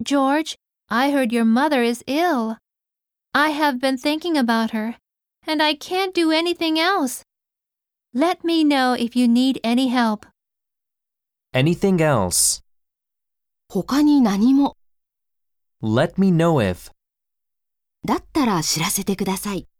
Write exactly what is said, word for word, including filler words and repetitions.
George, I heard your mother is ill. I have been thinking about her, and I can't do anything else. Let me know if you need any help. Anything else? 他に何も。 Let me know if. だったら知らせてください。